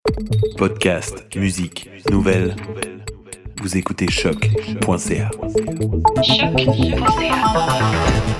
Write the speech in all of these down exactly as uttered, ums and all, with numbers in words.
Podcast, musique, nouvelles. Vous écoutez choc point c a. choc point c a.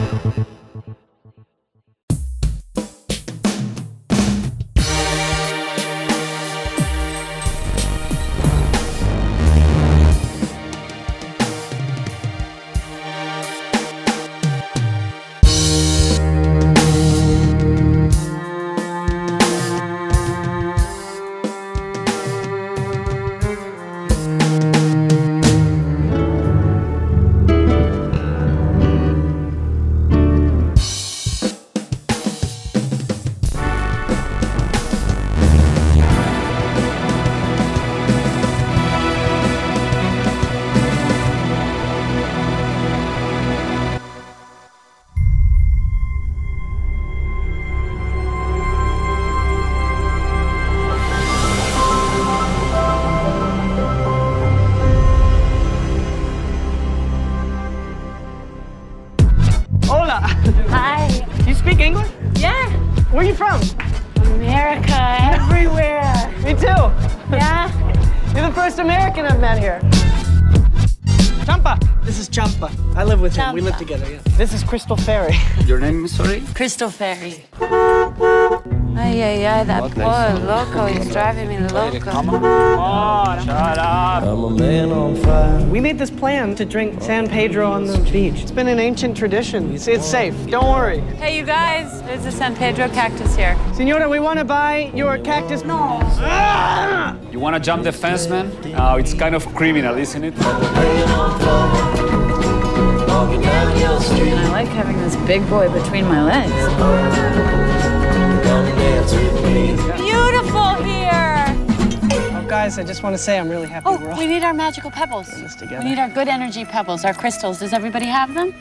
Hi. You speak English? Yeah. Where are you from? America, everywhere. Me too. Yeah. You're the first American I've met here. Champa. This is Champa. I live with him. We live Champa. together, yeah. This is Crystal Ferry. Your name is, sorry? Crystal Ferry. Ay, ay, ay, that poor loco. He's driving me loco. Come on. Shut up. I'm a man on fire. We made this plan to drink San Pedro on the beach. It's been an ancient tradition. It's, it's safe. Don't worry. Hey, you guys. There's a San Pedro cactus here. Senora, we want to buy your cactus. No. Ah! You want to jump the fence, man? Oh, it's kind of criminal, isn't it? And I like having this big boy between my legs. Beautiful here. Oh, guys, I just want to say I'm really happy Oh, we're all we need our magical pebbles. this together. We need our good energy pebbles, our crystals. Does everybody have them?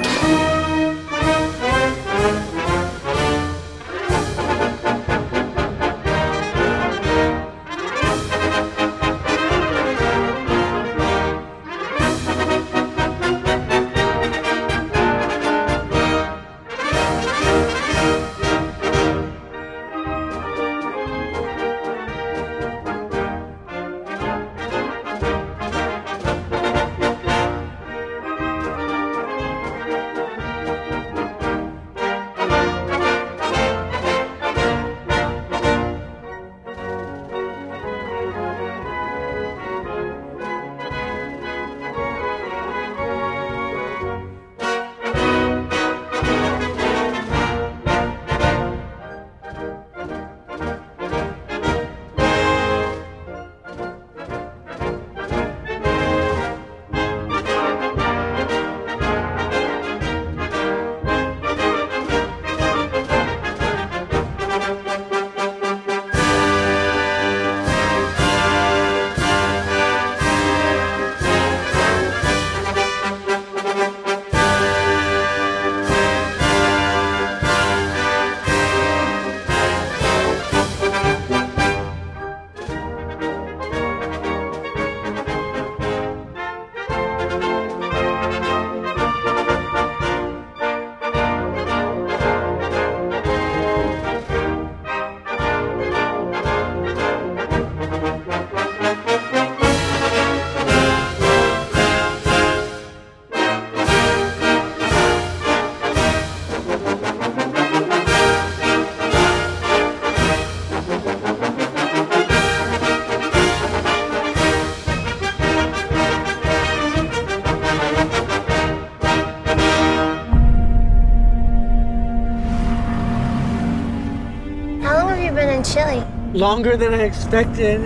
How long have you been in Chile? Longer than I expected.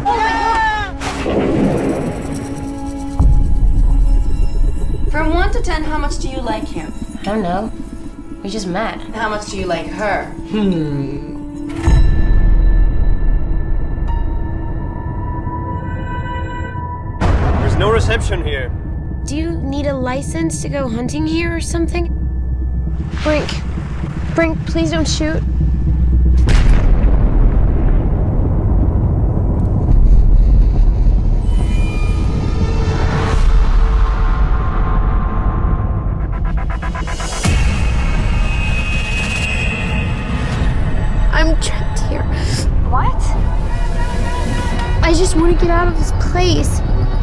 From one to ten, how much do you like him? I don't know. We just met. How much do you like her? Hmm. There's no reception here. Do you need a license to go hunting here or something? Brink. Brink, please don't shoot. I'm trapped here. What? I just want to get out of this place.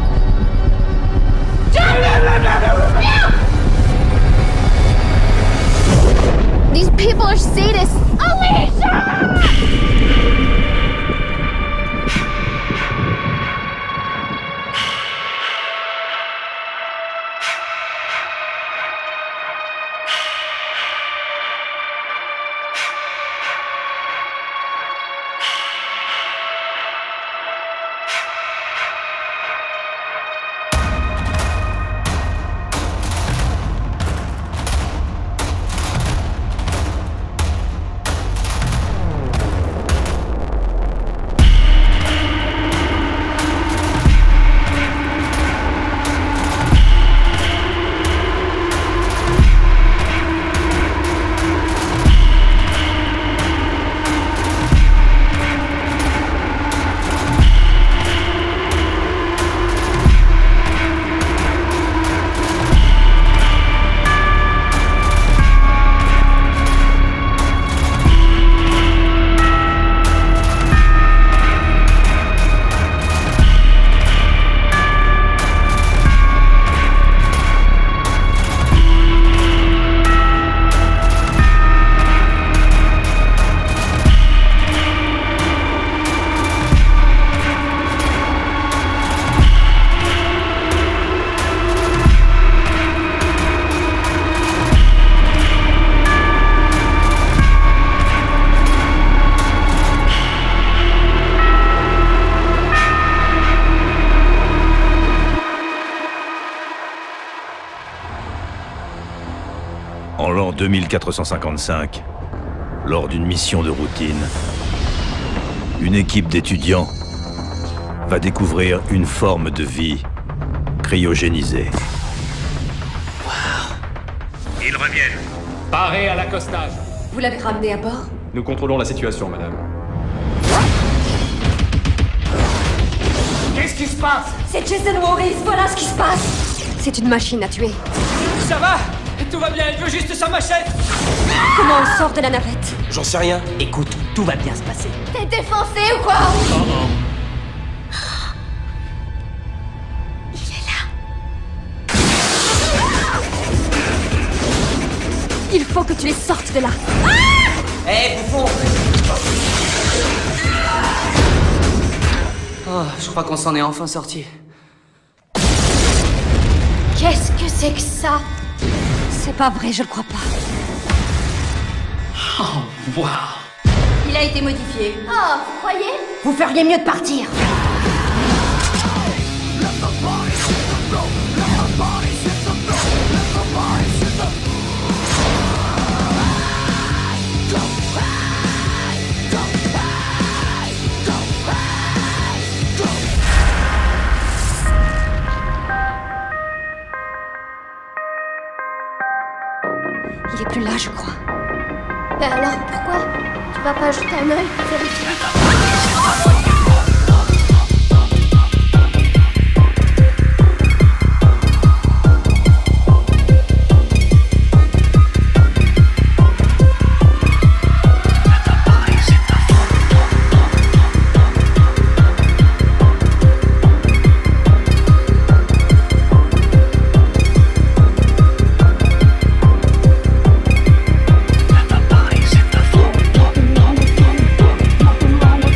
These people are sadists. Alicia! En l'an deux mille quatre cent cinquante-cinq, lors d'une mission de routine, une équipe d'étudiants va découvrir une forme de vie cryogénisée. Wow. Ils reviennent. Paré à l'accostage. Vous l'avez ramené à bord? Nous contrôlons la situation, madame. Qu'est-ce qui se passe? C'est Jason Voorhees, voilà ce qui se passe. C'est une machine à tuer. Ça va? Tout va bien, elle veut juste sa machette. Comment on sort de la navette? J'en sais rien. Écoute, tout va bien se passer. T'es défoncé ou quoi? Oh oh. Il est là. Il faut que tu les sortes de là. Hé, hey, bouffon! Oh, je crois qu'on s'en est enfin sorti. Qu'est-ce que c'est que ça? C'est pas vrai, je le crois pas. Oh, waouh! Il a été modifié. Oh, vous croyez? Vous feriez mieux de partir. Il est plus là, je crois. Ben alors, pourquoi? Tu vas pas jeter un œil pour vérifier? Bye.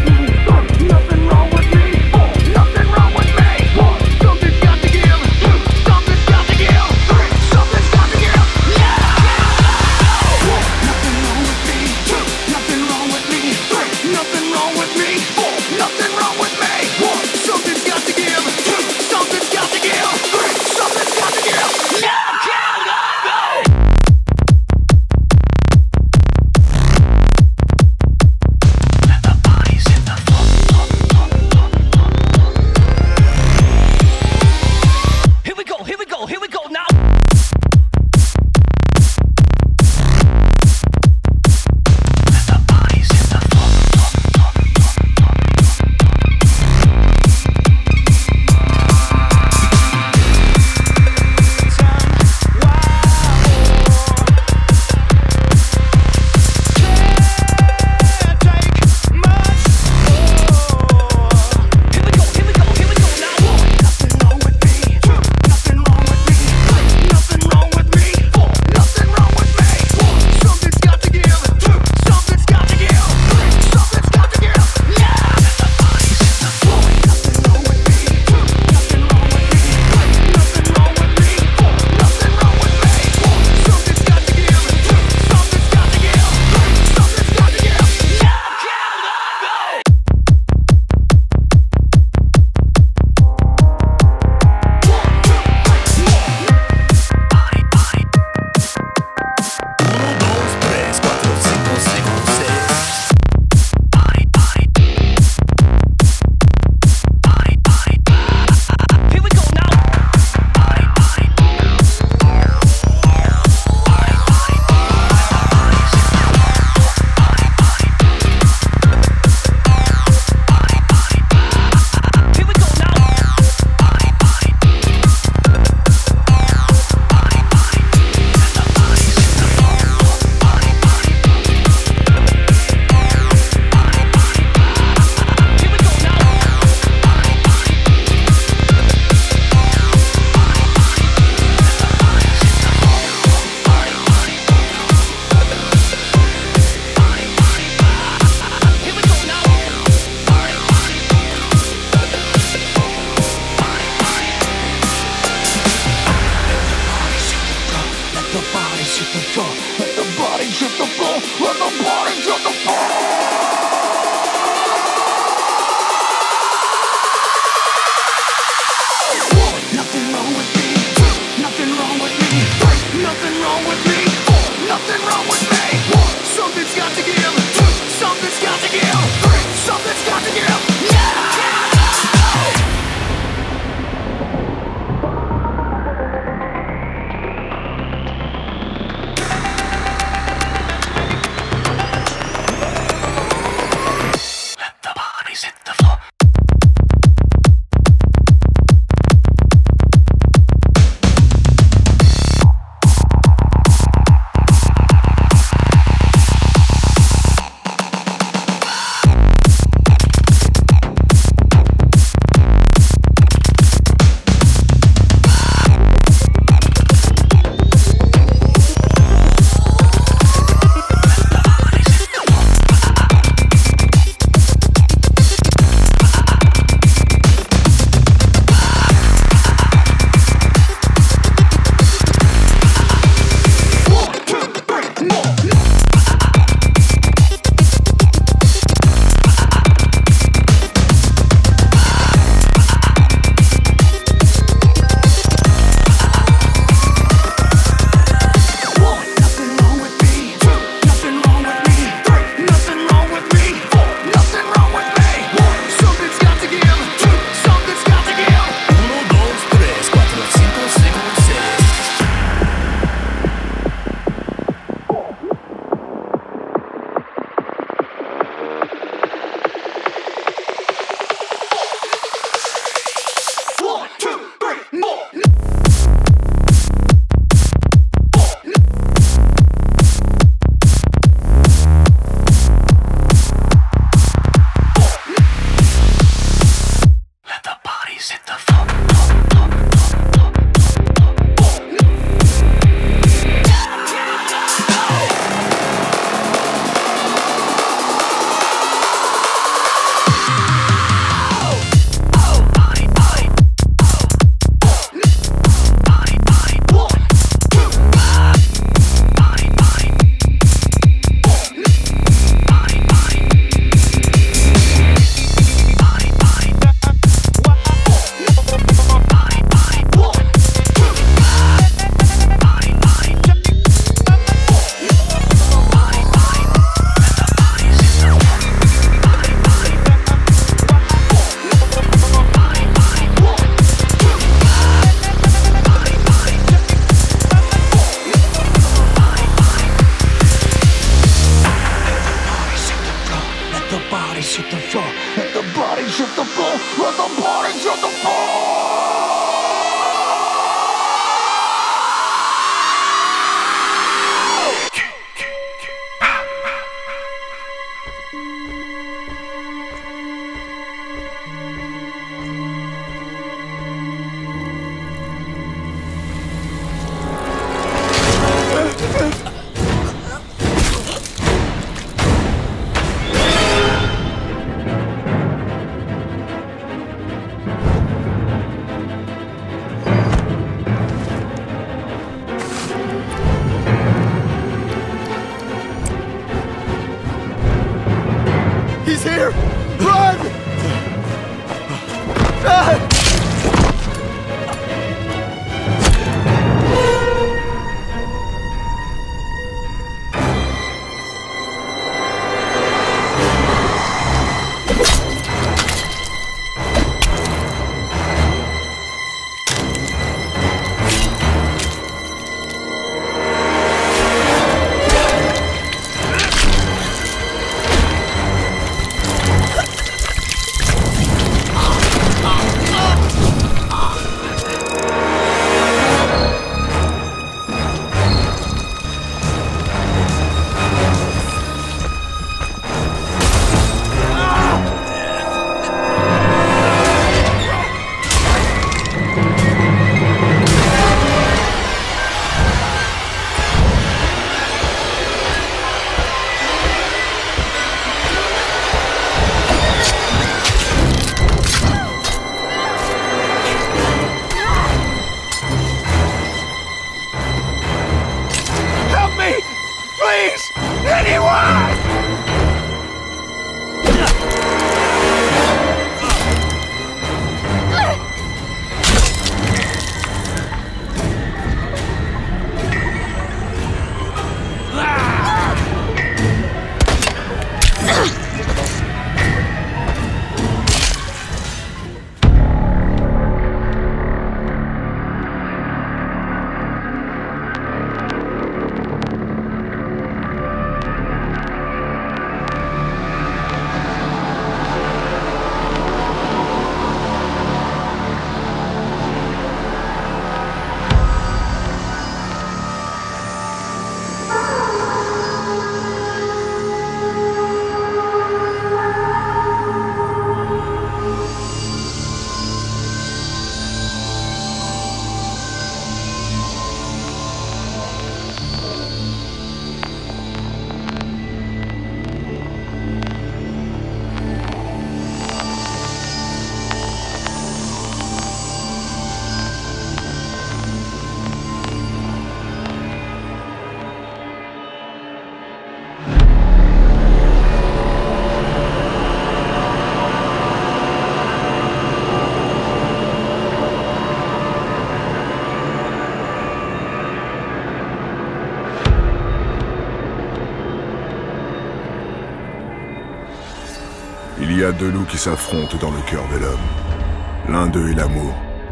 Il y a deux loups qui s'affrontent dans le cœur de l'homme. L'un d'eux est l'amour,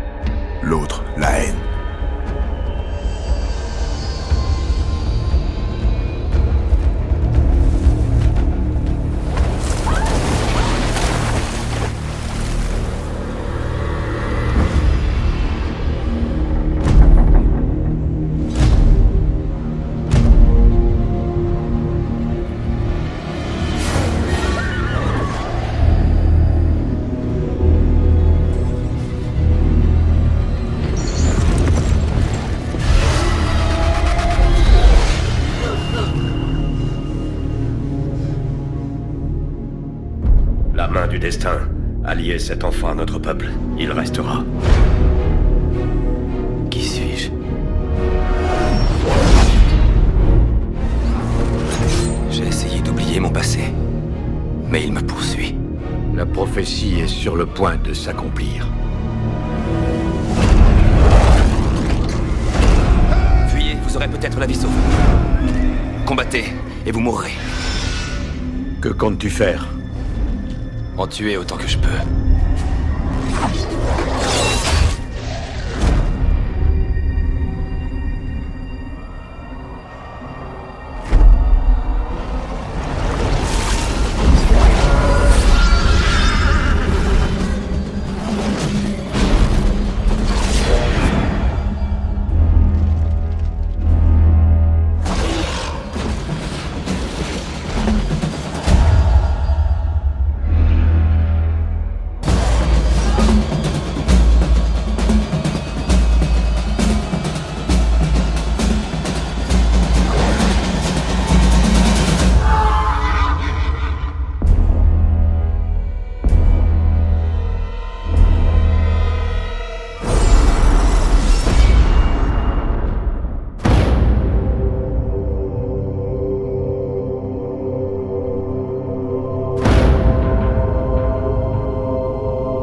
l'autre la haine. La main du destin a lié cet enfant à notre peuple. Il restera. Qui suis-je? J'ai essayé d'oublier mon passé, mais il me poursuit. La prophétie est sur le point de s'accomplir. Fuyez, vous aurez peut-être la vie sauve. Combattez, et vous mourrez. Que comptes-tu faire? En tuer autant que je peux.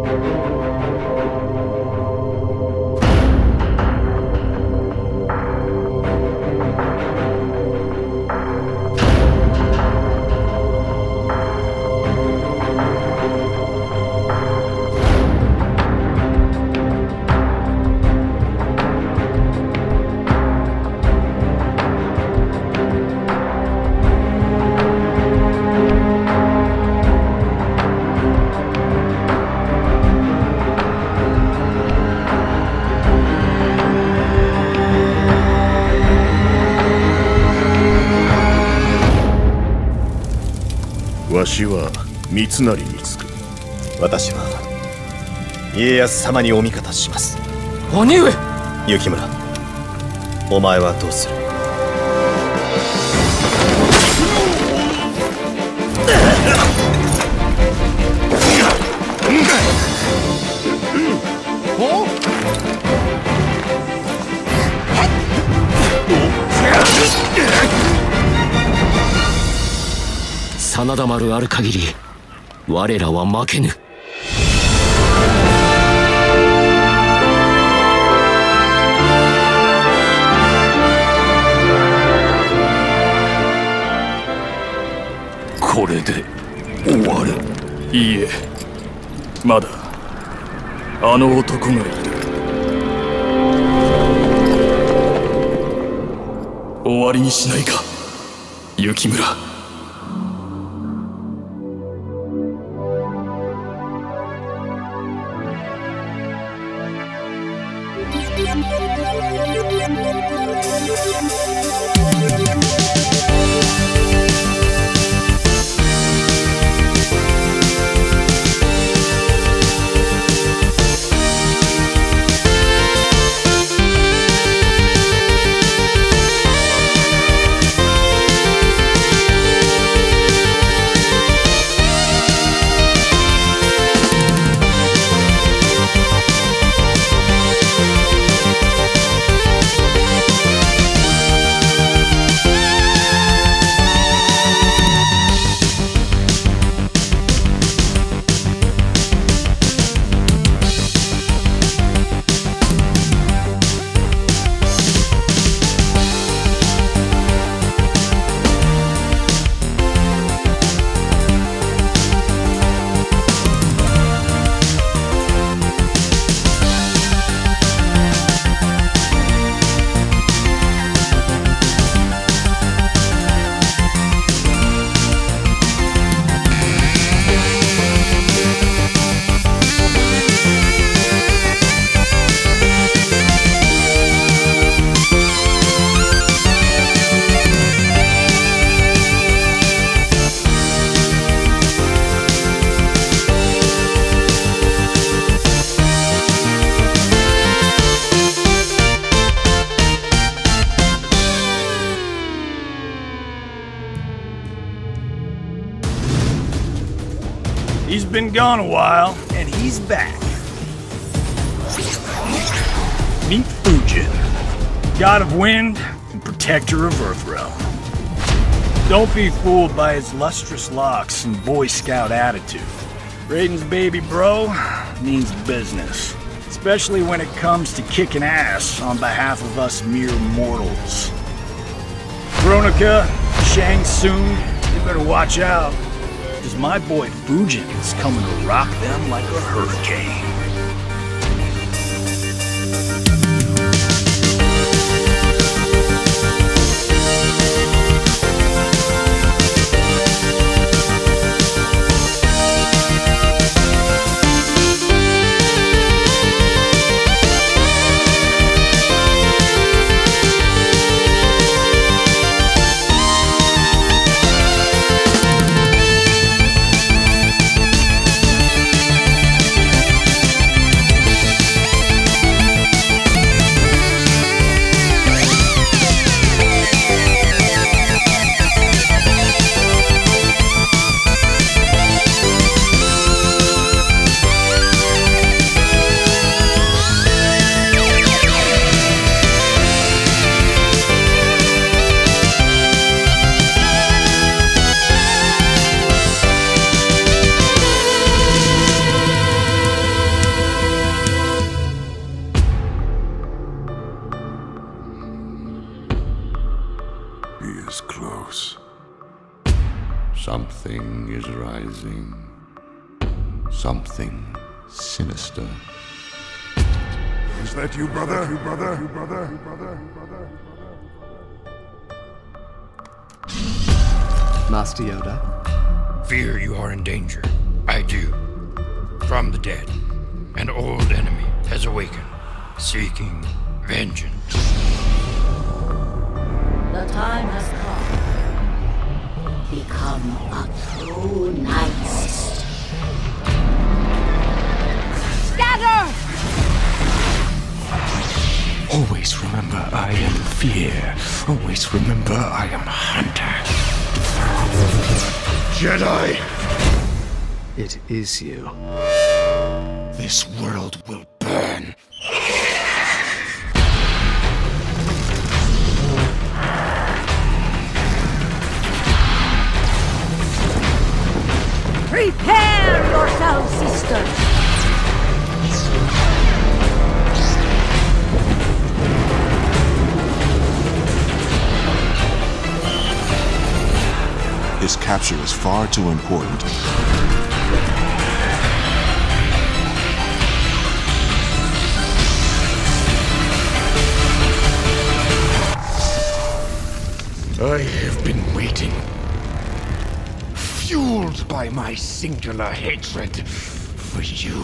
わしは三成につく。 私は家康様にお味方します。 兄上。 雪村、お前はどうする？ 真田丸ある限り我らは負けぬ。 これで終わる。いいえ、まだあの男がいる。終わりにしないか、雪村。 He's been gone a while, and he's back. Meet Fujin, god of wind and protector of Earthrealm. Don't be fooled by his lustrous locks and Boy Scout attitude. Raiden's baby bro means business, especially when it comes to kicking ass on behalf of us mere mortals. Veronica, Shang Tsung, you better watch out. Because my boy Fujin is coming to rock them like a hurricane. Something is rising. Something sinister. Is that you, brother? You, brother? You, brother? You, brother? You, brother? Master Yoda? Fear you are in danger. I do. From the dead. An old enemy has awakened, seeking vengeance. The time has come. Become a true Night Sister. Scatter! Always remember I am fear. Always remember I am hunter. Jedi! It is you. This world will burn. Prepare yourselves, sisters! His capture is far too important. I have been waiting, fueled by my singular hatred for you.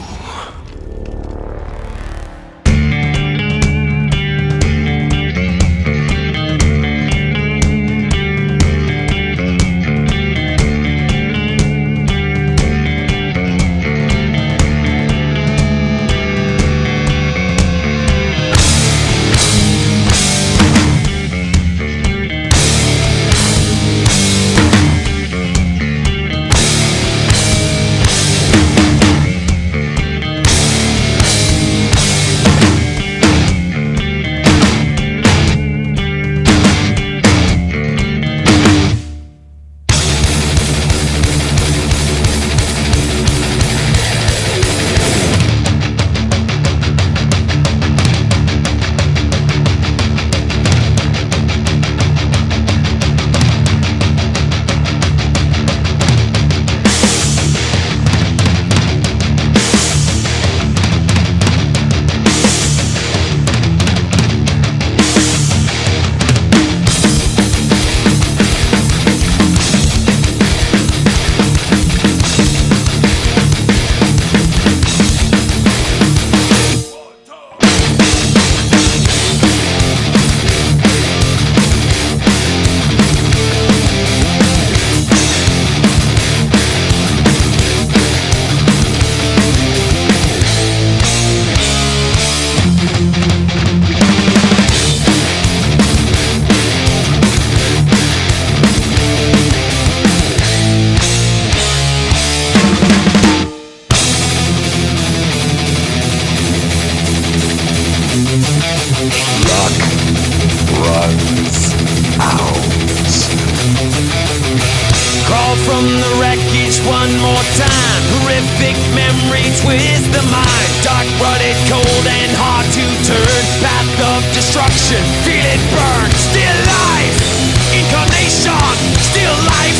from the wreckage one more time. Horrific memory twist the mind. Dark, rutted, cold, and hard to turn. Path of destruction, feel it burn. Still life, incarnation, still life,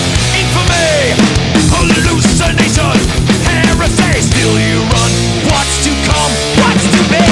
infamy, hallucination, heresy. Still you run, what's to come, what's to be.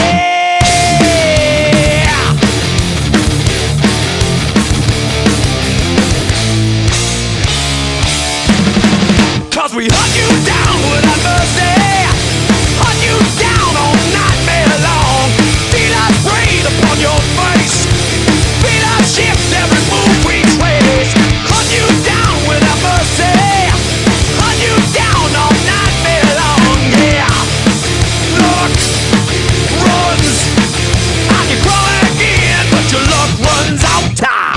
Cause we hunt you down without mercy, hunt you down all nightmare long. Feel us breathe upon your face, feel us shift every move we trace. Hunt you down without mercy, hunt you down all nightmare long. Yeah, looks, runs, I can crawl again, but your luck runs out time.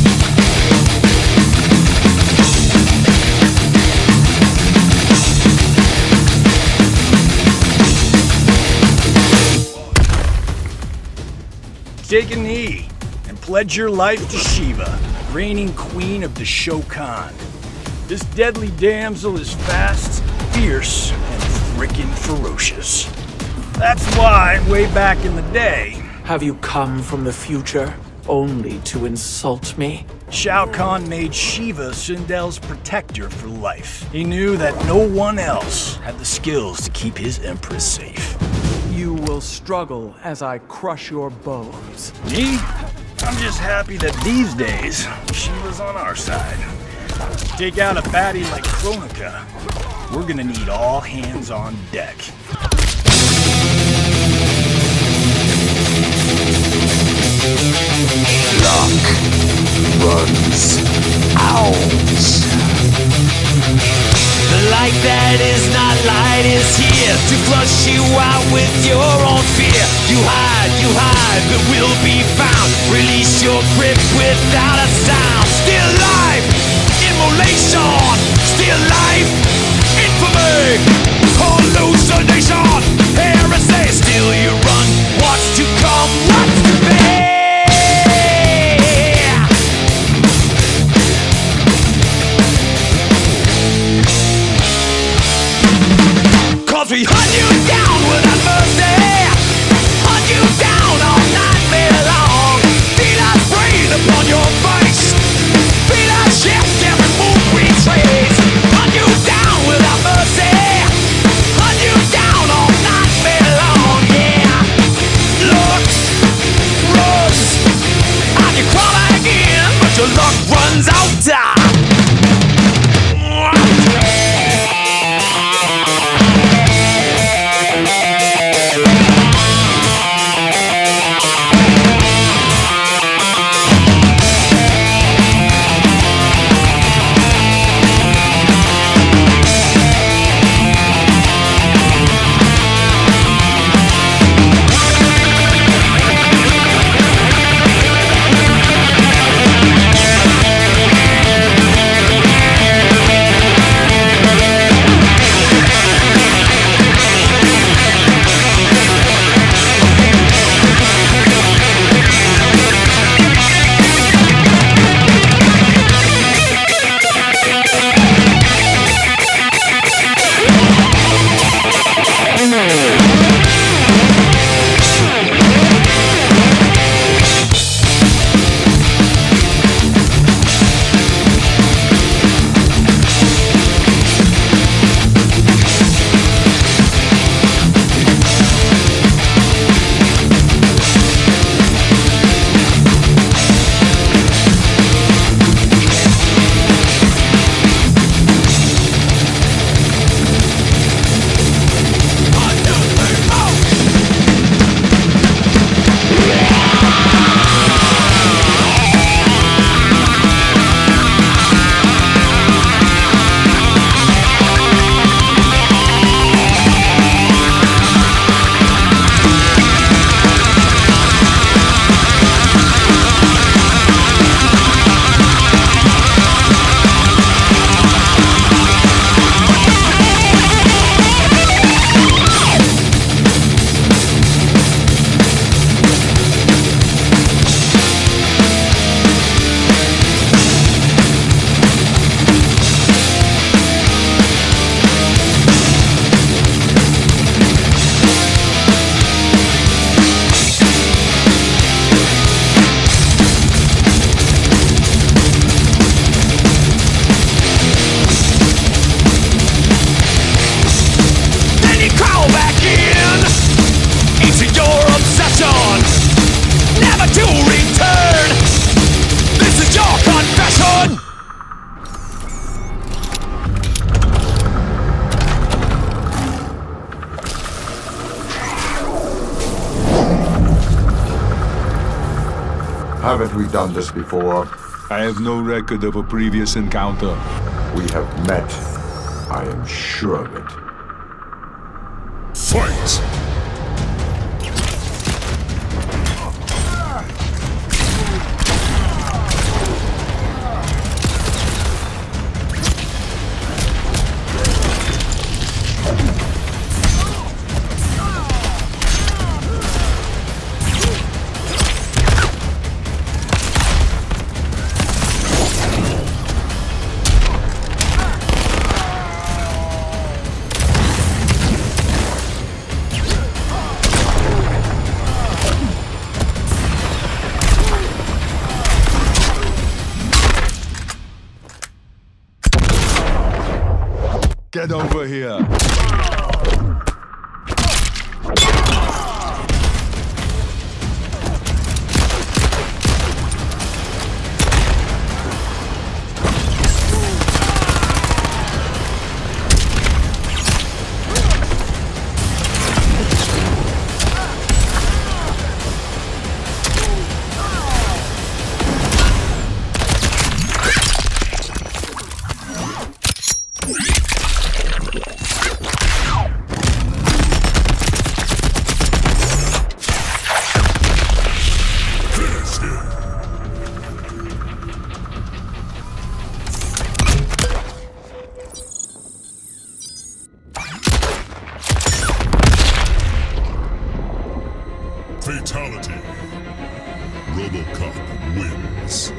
Take a knee and pledge your life to Shiva, reigning queen of the Shokan. This deadly damsel is fast, fierce, and frickin' ferocious. That's why, way back in the day... Have you come from the future only to insult me? Shao Kahn made Shiva Sindel's protector for life. He knew that no one else had the skills to keep his empress safe. You will struggle as I crush your bones. Me? I'm just happy that these days, Shiva's on our side. Take out a baddie like Kronika, we're gonna need all hands on deck. Luck runs out. The light that is not light is here to flush you out with your own fear. You hide, you hide, but will be found. Release your grip without a sound. Still life, immolation. Still life, infamy. Hallucination, heresy. Still you run. What's to come? What's to be? We hunt you down without mercy. Hunt you down all nightmare long. Feel us breathe upon your face. Feel us shift every move we trace. Hunt you down without mercy. Hunt you down all nightmare long. Yeah. Looks, runs, and you crawl again, but your luck runs out. Haven't we done this before? I have no record of a previous encounter. We have met. I am sure of it. Fight! Get over here. Fatality. RoboCop wins.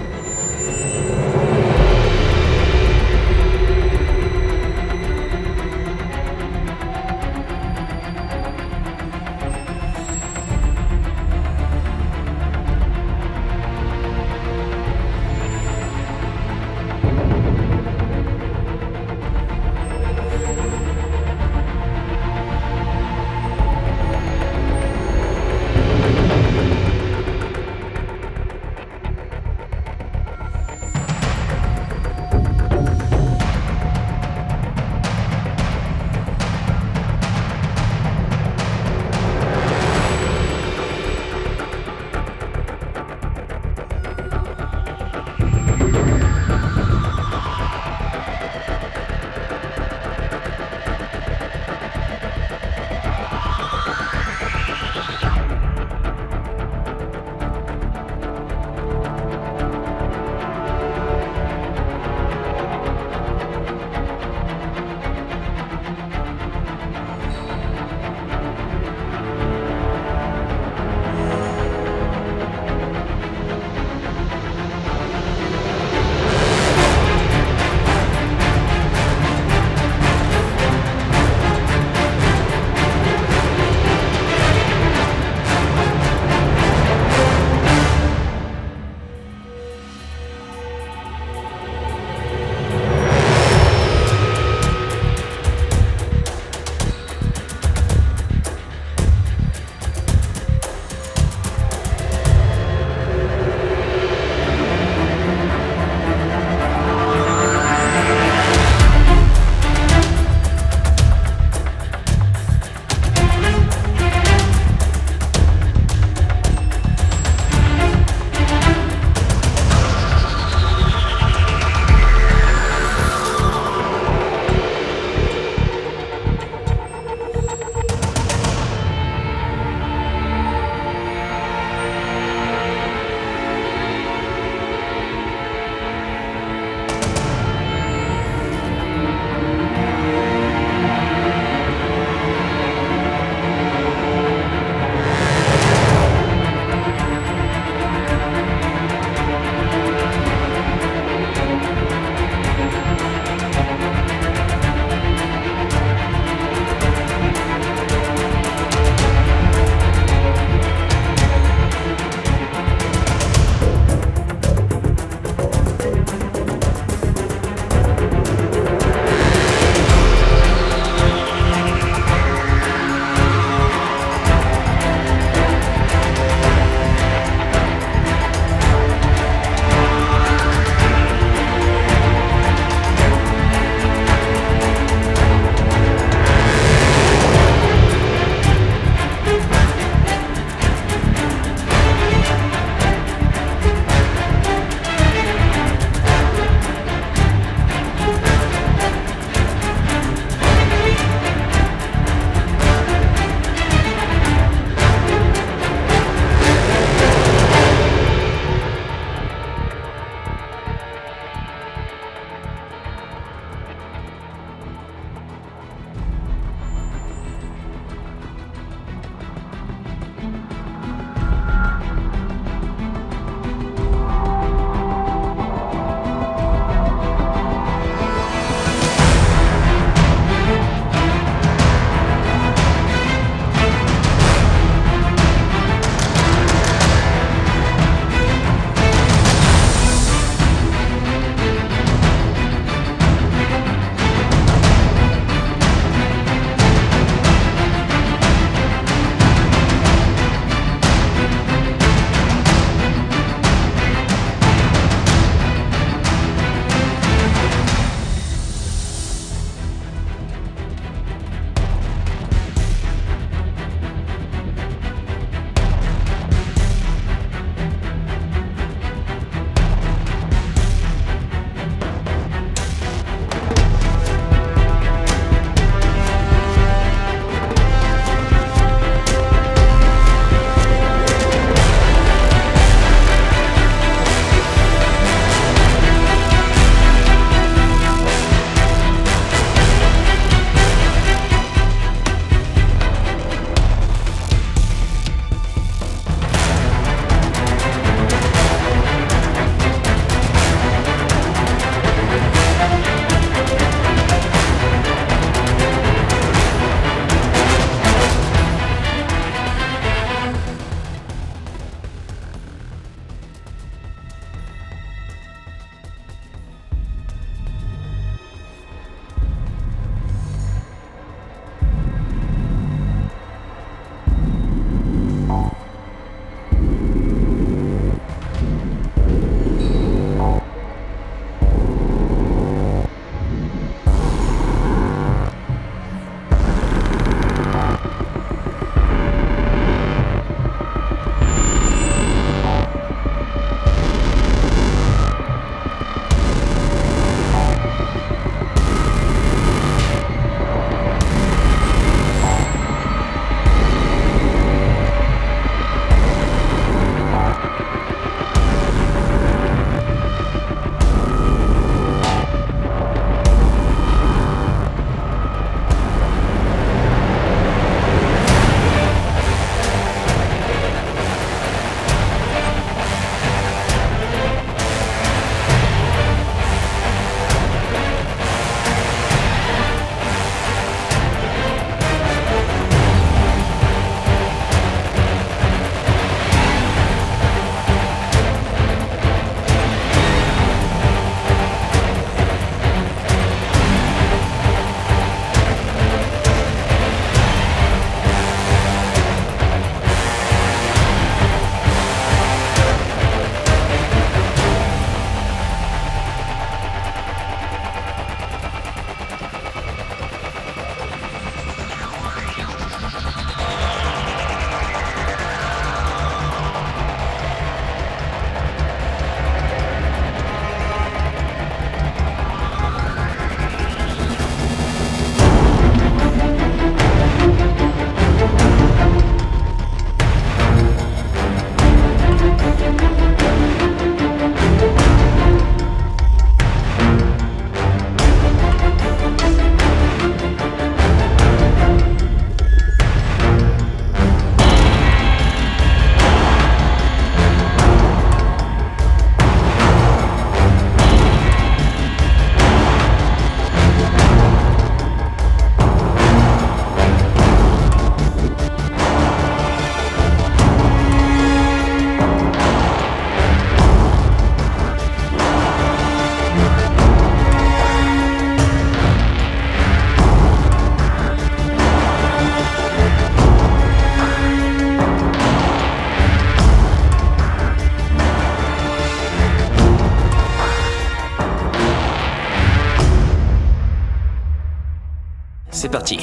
parti.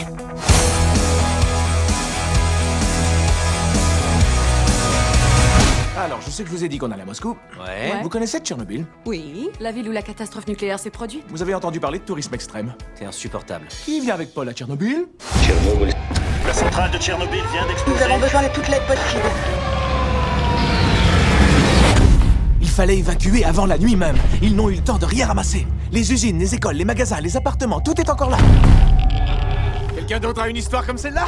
Alors, je sais que je vous ai dit qu'on allait à Moscou. Ouais. Vous connaissez Tchernobyl? Oui, la ville où la catastrophe nucléaire s'est produite. Vous avez entendu parler de tourisme extrême? C'est insupportable. Qui vient avec Paul à Tchernobyl? Tchernobyl. La centrale de Tchernobyl vient d'exploser. Nous avons besoin de toute l'aide possible. Il fallait évacuer avant la nuit même. Ils n'ont eu le temps de rien ramasser. Les usines, les écoles, les magasins, les appartements, tout est encore là. Quelqu'un d'autre a une histoire comme celle-là?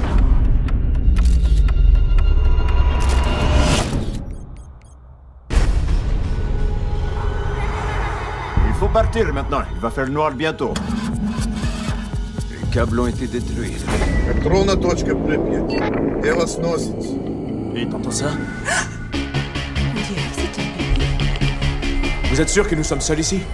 Il faut partir maintenant. Il va faire noir bientôt. Les câbles ont été détruits. Et t'entends ça? Vous êtes sûr que nous sommes seuls ici?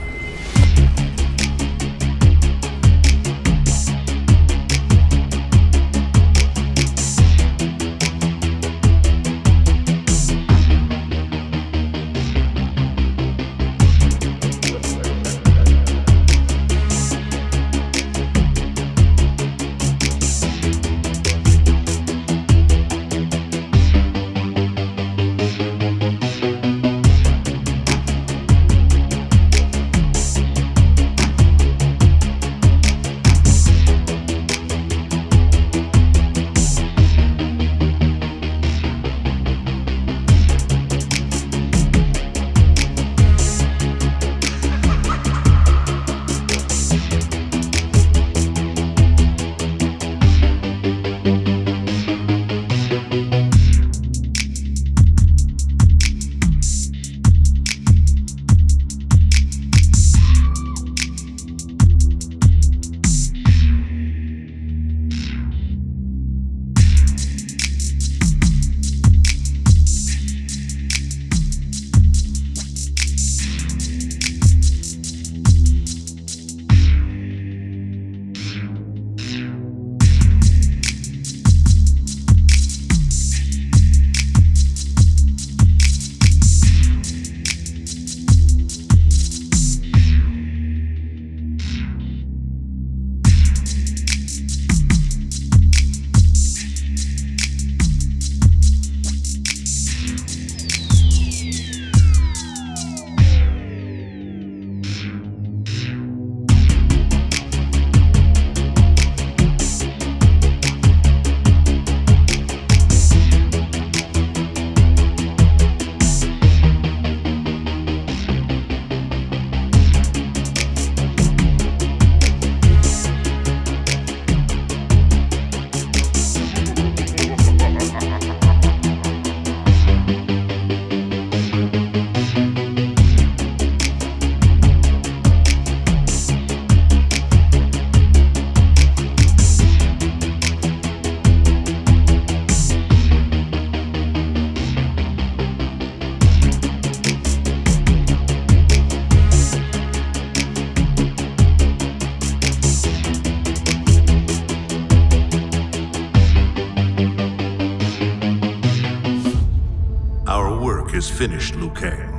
Is finished, Liu Kang.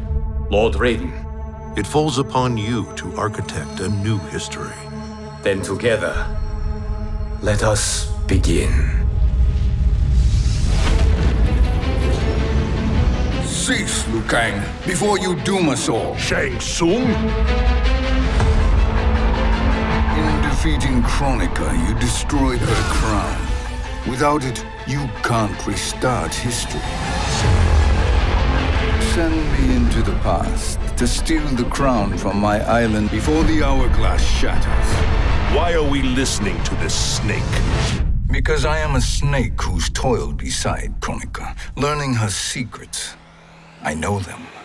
Lord Raiden. It falls upon you to architect a new history. Then together, let us begin. Cease, Liu Kang, before you doom us all. Shang Tsung? In defeating Kronika, you destroyed her crown. Without it, you can't restart history. Send me into the past to steal the crown from my island before the hourglass shatters. Why are we listening to this snake? Because I am a snake who's toiled beside Kronika, learning her secrets. I know them.